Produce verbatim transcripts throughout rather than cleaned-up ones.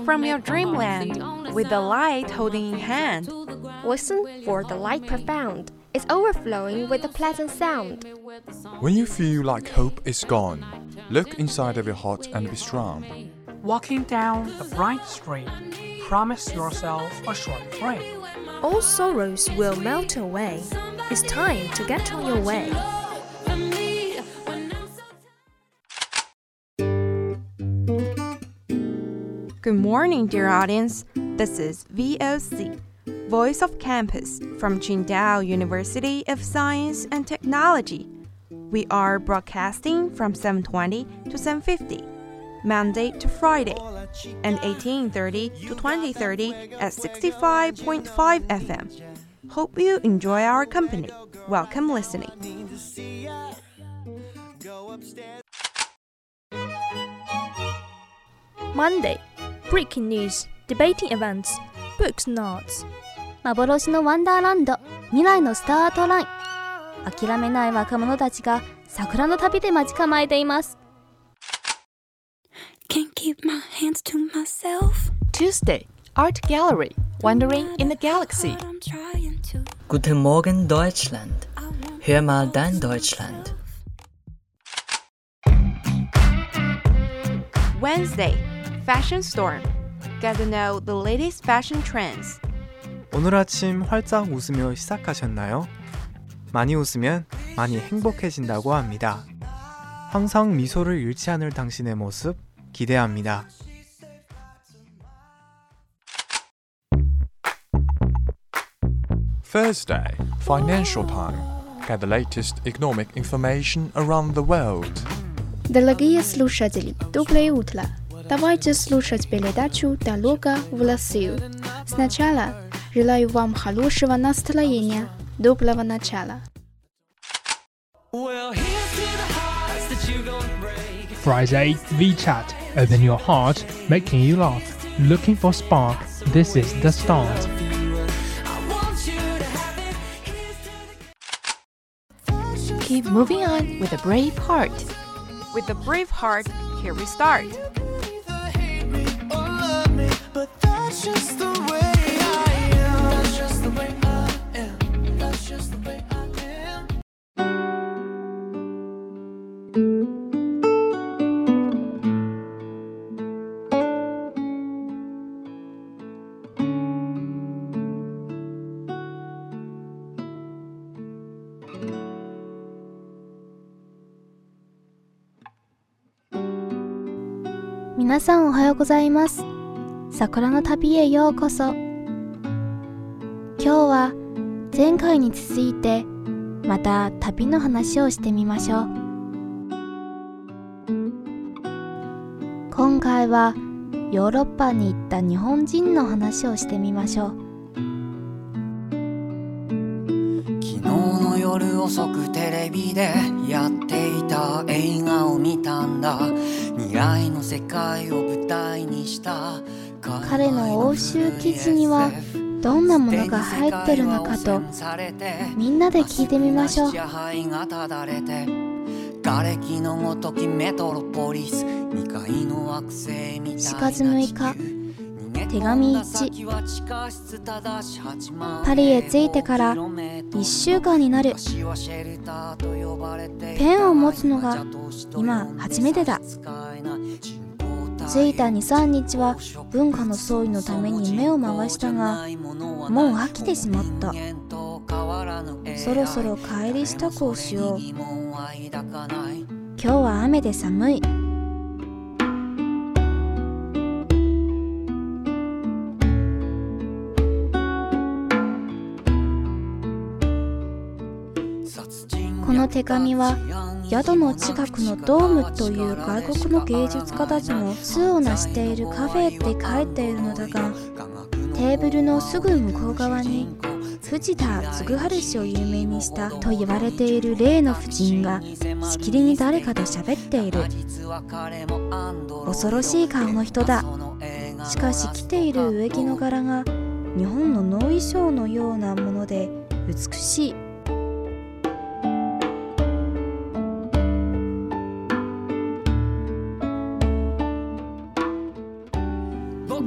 from your dreamland with the light holding in hand. Listen for the light profound. It's overflowing with a pleasant sound. When you feel like hope is gone, look inside of your heart and be strong. Walking down a bright street, promise yourself a short break. All sorrows will melt away. It's time to get on your way. Good morning, dear audience. This is V O C, Voice of Campus from Qingdao University of Science and Technology. We are broadcasting from seven twenty to seven fifty, Monday to Friday, and eighteen thirty to twenty thirty at sixty-five point five F M. Hope you enjoy our company. Welcome listening. Monday, breaking news, debating events, books notes. 幻のワンダーランド、未来のスタートライン。諦めない若者たちが桜の旅で待ち構えています。 Can't keep my hands to myself. Tuesday, Art Gallery, Wandering in the Galaxy. Guten Morgen, Deutschland. Hör mal dein Deutschland. Wednesday, Fashion Storm. Get to know the latest fashion trends. 오늘 아침 활짝 웃으며 시작하셨나요? 많이 웃으면 많이 행복해진다고 합니다. 항상 미소를 잃지 않을 당신의 모습 기대합니다. Thursday, Financial Time. Get the latest economic information around the world. Дорогие слушатели, доброе утро. Давайте слушать передачу «Дорога в Россию». Сначала желаю вам хорошего настроения, доброго начала. Friday, VChat. Open your heart, making you laugh. Looking for spark. This is the start. Keep moving on with a brave heart. With a brave heart, here we start. 皆さんおはようございます。桜の旅へようこそ。今日は前回に続いてまた旅の話をしてみましょう。今回はヨーロッパに行った日本人の話をしてみましょう。 昨日の夜遅くテレビでやっていた映画を見たんだ。未来の世界を舞台にした彼の欧州記事にはどんなものが入ってるのかとみんなで聞いてみましょう。 瓦礫のごときメトロポリスにかいの惑星みたいなしがつむいか手紙いちパリへ着いてからいっしゅうかんになる。ペンを持つのが今初めてだ。着いた にさんにちは文化の総意のために目を回したがもう飽きてしまった。そろそろ帰り支度をしよう。今日は雨で寒い。この手紙は宿の近くのドームという外国の芸術家たちの巣を成しているカフェって書いているのだが、テーブルのすぐ向こう側に藤田嗣治氏を有名にしたと言われている例の夫人がしきりに誰かと喋っている。恐ろしい顔の人だ。しかし着ている植木の柄が日本の能衣装のようなもので美しい。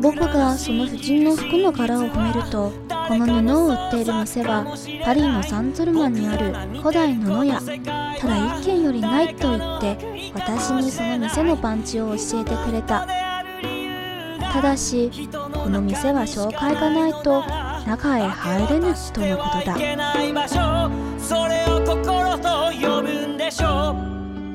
僕がその婦人の服の柄を褒めると、この布を売っている店はパリのサンズルマンにある古代布屋、ただ一軒よりないと言って私にその店のパンチを教えてくれた。ただしこの店は紹介がないと中へ入れぬとのことだ。 それを心と呼ぶんでしょう。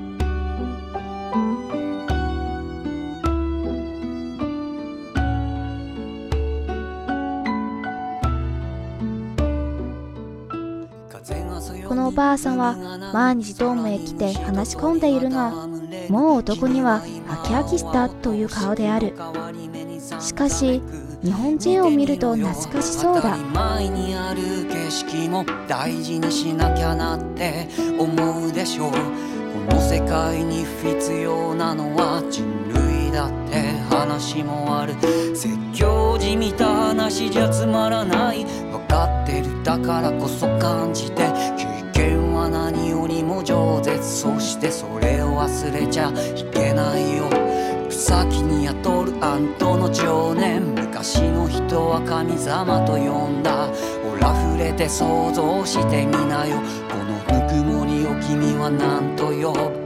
このおばあさんは毎日ドームへ来て話し込んでいるが、もう男には飽き飽きしたという顔である。しかし日本人を見ると懐かしそうだ。 前にある景色も大事にしなきゃなって思うでしょう。この世界に必要なのは人類だって話もある。説教じみた話じゃつまらない。分かってるだからこそ感じて、経験は何よりも饒舌。そしてそれを忘れちゃいけないよ。草木に宿るあんとの情念、昔の人は神様と呼んだ。ほら触れて想像してみなよ。このぬくもりを君は何と呼ぶ。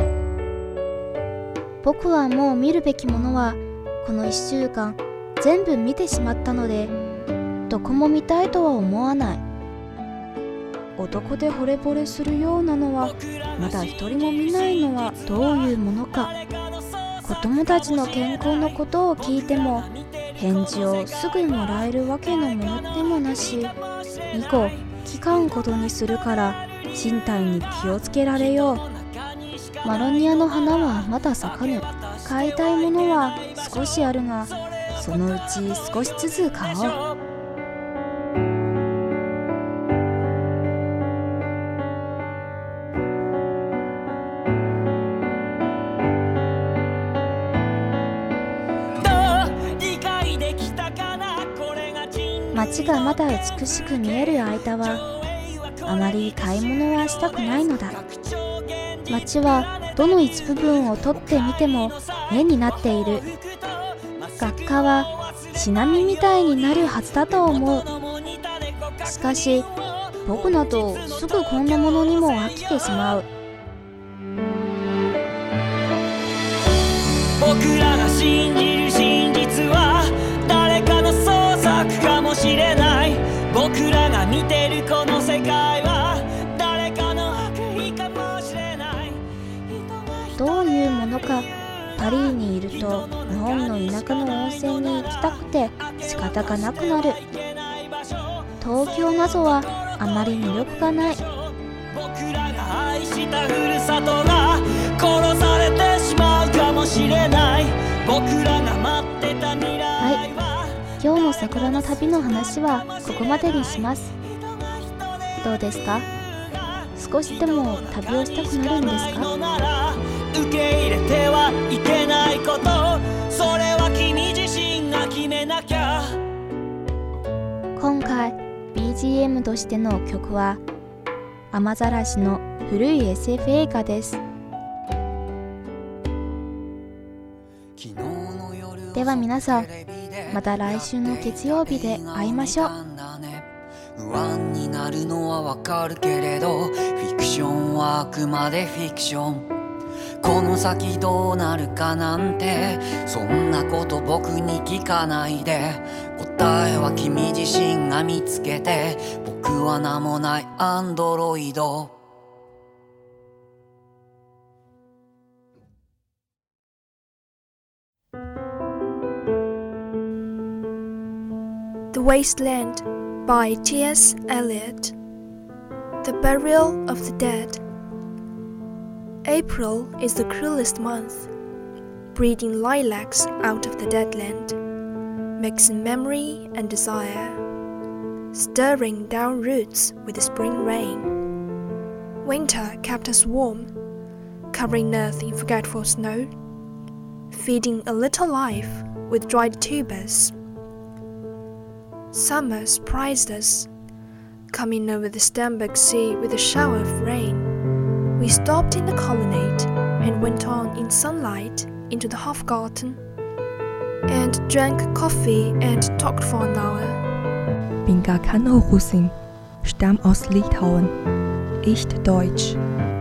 僕はもう見るべきものはこのいっしゅうかん全部見てしまったので、どこも見たいとは思わない。男で惚れ惚れするようなのはまだ一人も見ないのはどういうものか。子供たちの健康のことを聞いても返事をすぐもらえるわけのものでもなし、以後聞かんことにするから身体に気をつけられよう。マロニアの花はまだ咲かぬ。買いたいものは少しあるが、そのうち少しずつ買おう。街がまだ美しく見える間はあまり買い物はしたくないのだ。街はどの一部分を取ってみても絵になっている。学科はシナミみたいになるはずだと思う。しかし僕などすぐこんなものにも飽きてしまう。 僕らが信じる真実は誰かの創作かもしれない。僕らが見てるこの世界は誰かの悪意かもしれない。 どういうものか。パリにいると日本の田舎の温泉に行きたくて仕方がなくなる。東京などはあまり魅力がない。 僕らが愛したふるさとが殺されてしまうかもしれない。僕らが待ってた未来は、 はい、今日の桜の旅の話はここまでにします。どうですか？少しでも旅をしたくなるんですか？ 受け入れてはいけないこと、それは君自身が決めなきゃ。 今回 ビージーエム としての曲は雨ざらしの古い エスエフ 映画です。では皆さん、また来週の月曜日で会いましょう。 不安になるのはわかるけれど、フィクションはあくまでフィクション。この先どうなるかなんて、そんなこと僕に聞かないで。答えは君自身が見つけて。僕は名もないアンドロイド。 The Wasteland by T S Eliot. The Burial of the Dead. April is the cruelest month, breeding lilacs out of the dead land, mixing memory and desire, stirring down roots with the spring rain. Winter kept us warm, covering earth in forgetful snow, feeding a little life with dried tubers. Summer surprised us, coming over the Starnberg Sea with a shower of rain. We stopped in the colonnade and went on in sunlight into the Hofgarten. and drank coffee and talked for an hour. Bin gar keine Russin, stamm aus Litauen, ich Deutsch.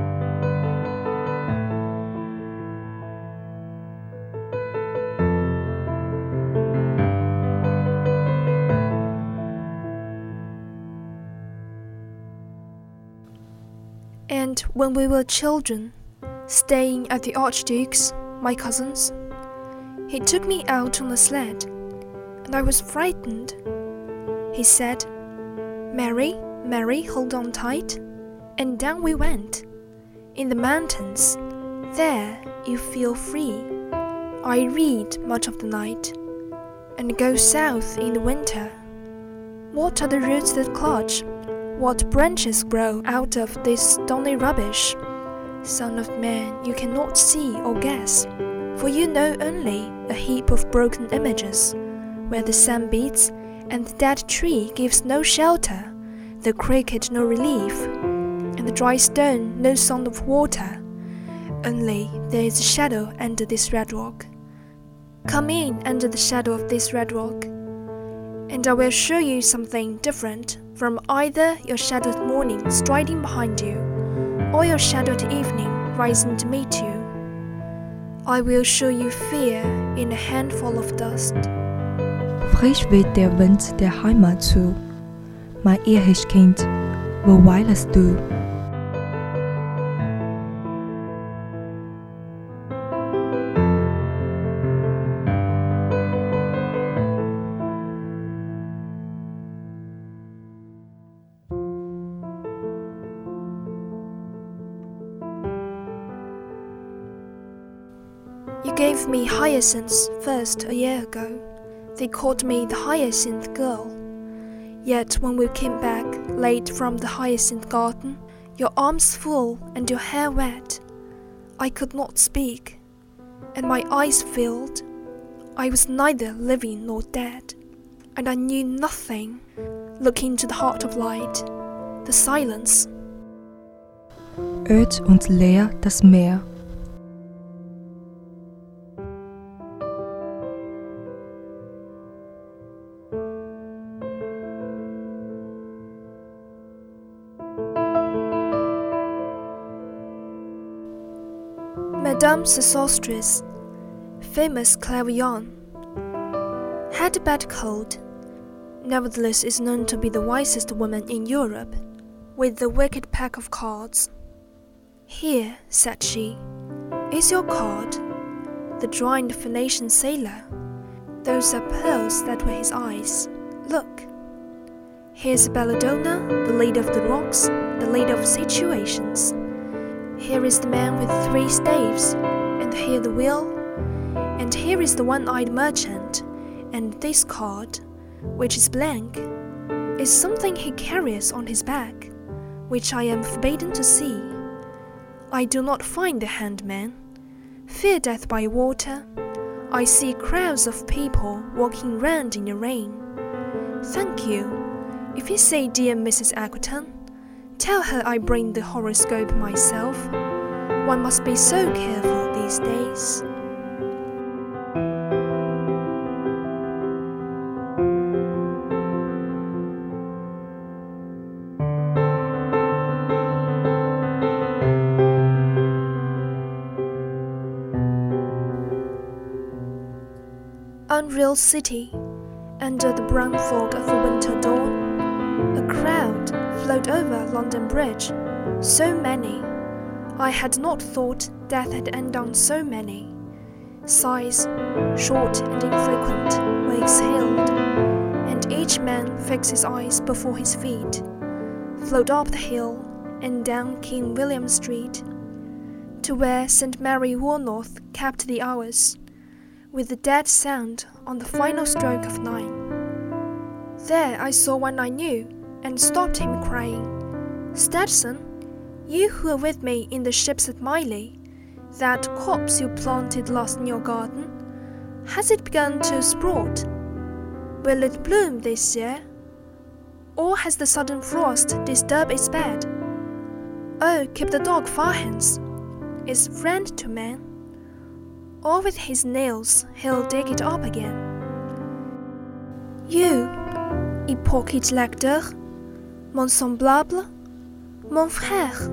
And when we were children, staying at the Archduke's, my cousin's, he took me out on a sled, and I was frightened. He said, "Mary, Mary, hold on tight." And down we went. In the mountains, there you feel free. I read much of the night, and go south in the winter. What are the roots that clutch? What branches grow out of this stony rubbish? Son of man, you cannot see or guess, for you know only a heap of broken images, where the sun beats, and the dead tree gives no shelter, the cricket no relief, and the dry stone no sound of water. Only there is a shadow under this red rock. Come in under the shadow of this red rock, and I will show you something different from either your shadowed morning striding behind you, or your shadowed evening rising to meet you. I will show you fear in a handful of dust. Frisch weht der Wind der Heimat zu. Mein Ehrlich-Kind, wo weilest du? You gave me hyacinths first a year ago. They called me the hyacinth girl. Yet when we came back late from the hyacinth garden, your arms full and your hair wet, I could not speak, and my eyes filled. I was neither living nor dead, and I knew nothing. Look into the heart of light, the silence. Öd und leer das Meer. Madame Sosostris, famous clairvoyant, had a bad cold, nevertheless is known to be the wisest woman in Europe, with the wicked pack of cards. "Here," said she, "is your card, the drowned Phoenician sailor. Those are pearls that were his eyes. Look. Here's Belladonna, the lady of the rocks, the lady of situations. Here is the man with three staves, and here the wheel, and here is the one-eyed merchant, and this card, which is blank, is something he carries on his back, which I am forbidden to see. I do not find the handman. Fear death by water. I see crowds of people walking round in the rain. Thank you. If you say dear Missus Aquaton, tell her I bring the horoscope myself. One must be so careful these days." Unreal city, under the brown fog of a winter dawn, a crowd flowed over London Bridge, so many. I had not thought death had undone so many. Sighs, short and infrequent, were exhaled, and each man fixed his eyes before his feet, flowed up the hill and down King William Street, to where Saint Mary Woolnoth kept the hours, with the dead sound on the final stroke of nine. There I saw one I knew, and stopped him, crying, "Stetson, you who were with me in the ships at Miley, that copse you planted last in your garden, has it begun to sprout? Will it bloom this year? Or has the sudden frost disturbed its bed? Oh, keep the dog far hence, is friend to man. or with his nails he'll dig it up again. You, hypocrite lecteur, mon semblable, mon frère.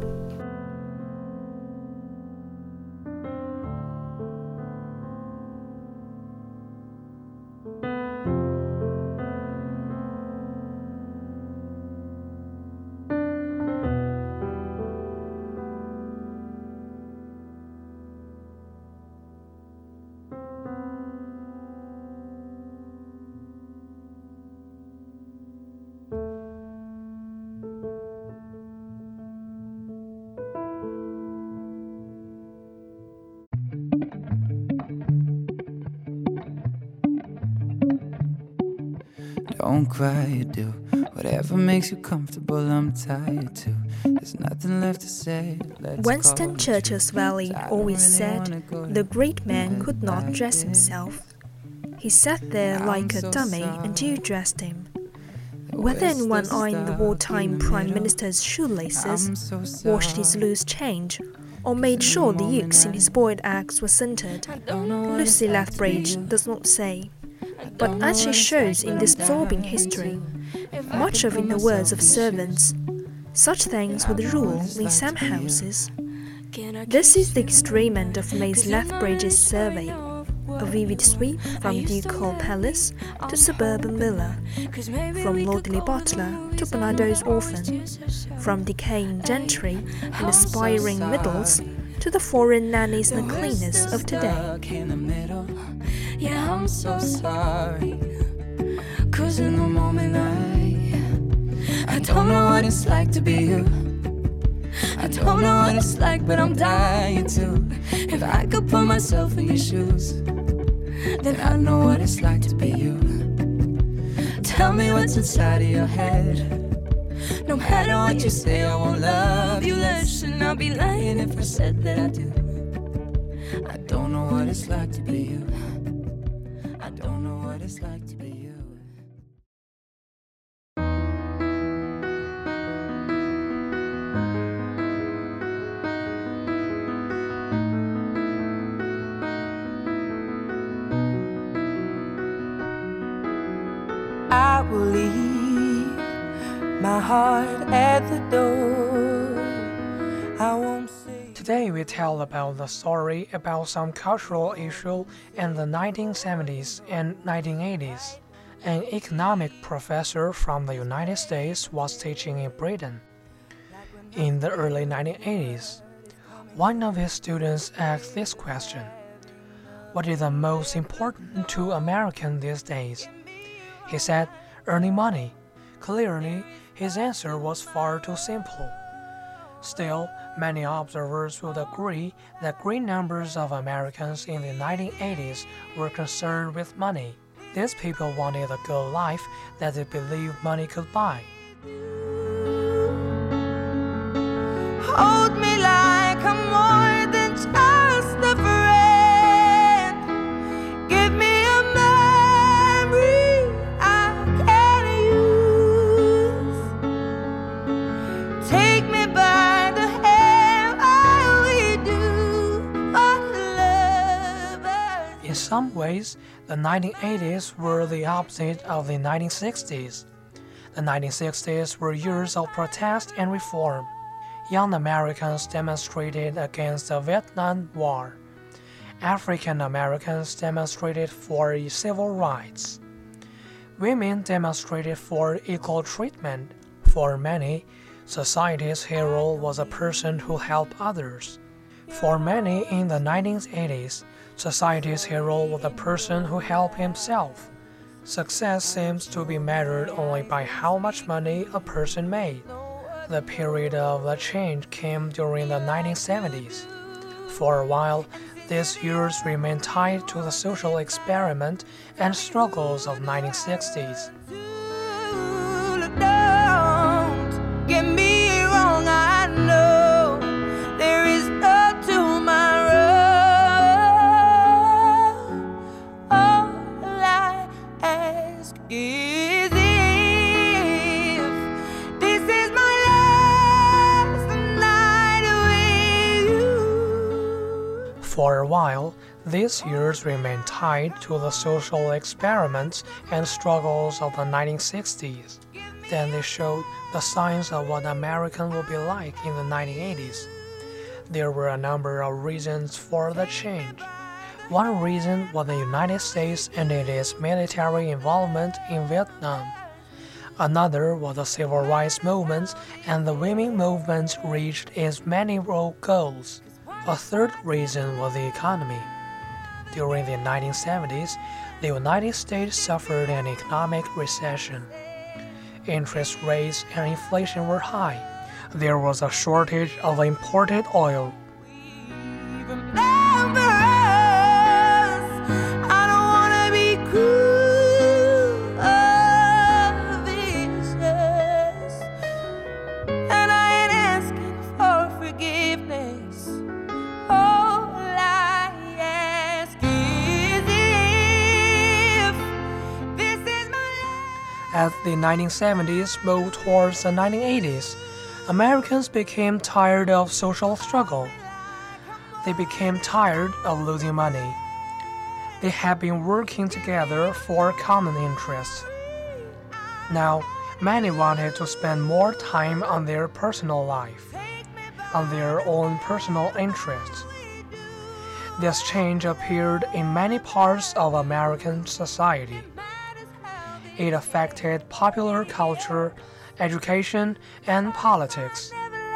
Don't cry, you do whatever makes you comfortable. I'm tired too. There's nothing left to say. Let's Winston Churchill's valet always said the great man could not dress himself. He sat there like a dummy until you dressed him. Whether anyone eyeing the wartime prime minister's shoelaces, washed his loose change, or made sure the ukes in his boiled eggs were centered, Lucy Lethbridge does not say. But as she shows in this absorbing history, much of in the words of servants, such things were the rule in some houses. This is the extreme end of Miss Lethbridge's survey, a vivid sweep from ducal palace to suburban villa, from lordly butler to Barnardo's orphan, from decaying gentry and aspiring middles to the foreign nannies and cleaners of today. Yeah, I'm so sorry, 'cause in the moment I I don't know what it's like to be you. I don't know what it's like, but I'm dying to. If I could put myself in your shoes, then I know what it's like to be you. Tell me what's inside of your head. No matter what you say, I won't love you less, and I'll be lying if I said that I do. I don't know what it's like to be you. I don't know what it's like to be you. I will leave my heart at the door. I won't say. Today we tell about the story about some cultural issue in the nineteen seventies and nineteen eighties. An economic professor from the United States was teaching in Britain. In the early nineteen eighties, one of his students asked this question: what is the most important to Americans these days? He said, earning money. Clearly, his answer was far too simple. Still, many observers would agree that great numbers of Americans in the nineteen eighties were concerned with money. These people wanted a good life that they believed money could buy. Hold me like I'm more than just a friend. Give me a memory I can use. Take me by the hand while we do our love. In some ways, the nineteen eighties were the opposite of the nineteen sixties. The nineteen sixties were years of protest and reform. Young Americans demonstrated against the Vietnam War. African Americans demonstrated for civil rights. Women demonstrated for equal treatment. For many, society's hero was a person who helped others. For many in the nineteen eighties, society's hero was a person who helped himself. Success seems to be measured only by how much money a person made. The period of the change came during the nineteen seventies. For a while, these years remained tied to the social experiment and struggles of nineteen sixties. Don't get me wrong, I know there is no tomorrow. All I ask is if this is my For a while, these years remained tied to the social experiments and struggles of the nineteen sixties. Then they showed the signs of what America would be like in the nineteen eighties. There were a number of reasons for the change. One reason was the United States and its military involvement in Vietnam. Another was the civil rights movement, and the women movement reached its many goals. A third reason was the economy. During the nineteen seventies, the United States suffered an economic recession. Interest rates and inflation were high. There was a shortage of imported oil. As the nineteen seventies moved towards the nineteen eighties, Americans became tired of social struggle. They became tired of losing money. They had been working together for common interests. Now, many wanted to spend more time on their personal life, on their own personal interests. This change appeared in many parts of American society. It affected popular culture, education, and politics.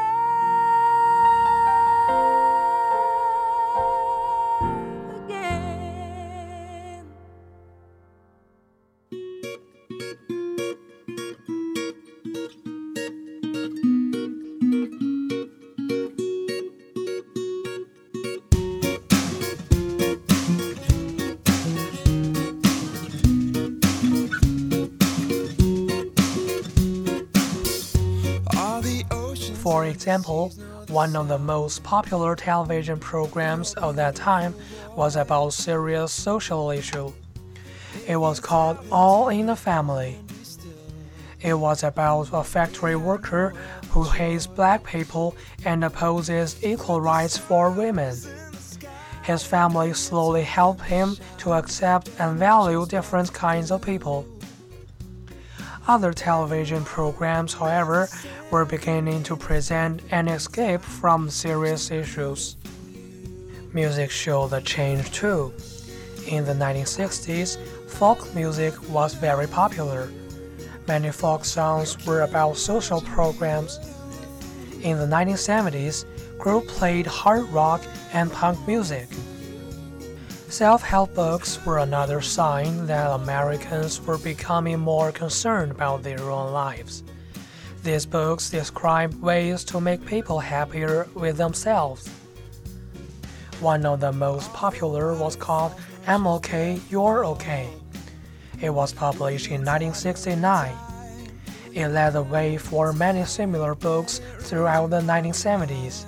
For example, one of the most popular television programs of that time was about serious social issue. It was called All in the Family. It was about a factory worker who hates black people and opposes equal rights for women. His family slowly helped him to accept and value different kinds of people. Other television programs, however, were beginning to present an escape from serious issues. Music showed the change too. In the nineteen sixties, folk music was very popular. Many folk songs were about social programs. In the nineteen seventies, groups played hard rock and punk music. Self-help books were another sign that Americans were becoming more concerned about their own lives. These books describe ways to make people happier with themselves. One of the most popular was called I'm Okay, You're Okay. It was published in nineteen sixty-nine. It led the way for many similar books throughout the nineteen seventies.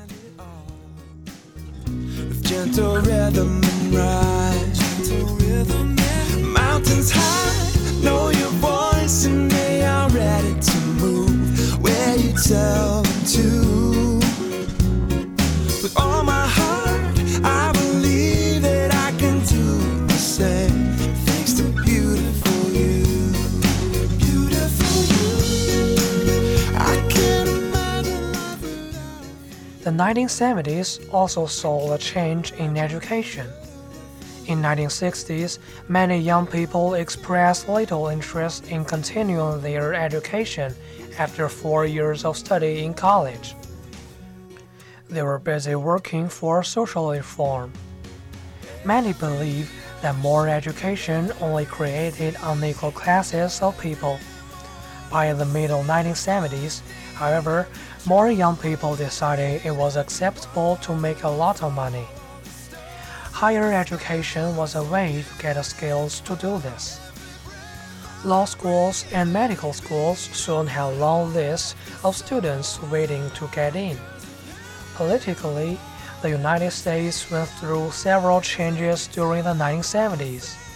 Gentle rhythm and rise, mountains high, know your voice and they are ready to move where you tell them to. With all my heart, I believe that I can do the same. Thanks to beautiful you, beautiful you. I can't imagine life without you. The nineteen seventies also saw a change in education. In the nineteen sixties, many young people expressed little interest in continuing their education after four years of study in college. They were busy working for social reform. Many believe that more education only created unequal classes of people. By the middle nineteen seventies, however, more young people decided it was acceptable to make a lot of money. Higher education was a way to get the skills to do this. Law schools and medical schools soon had long lists of students waiting to get in. Politically, the United States went through several changes during the nineteen seventies.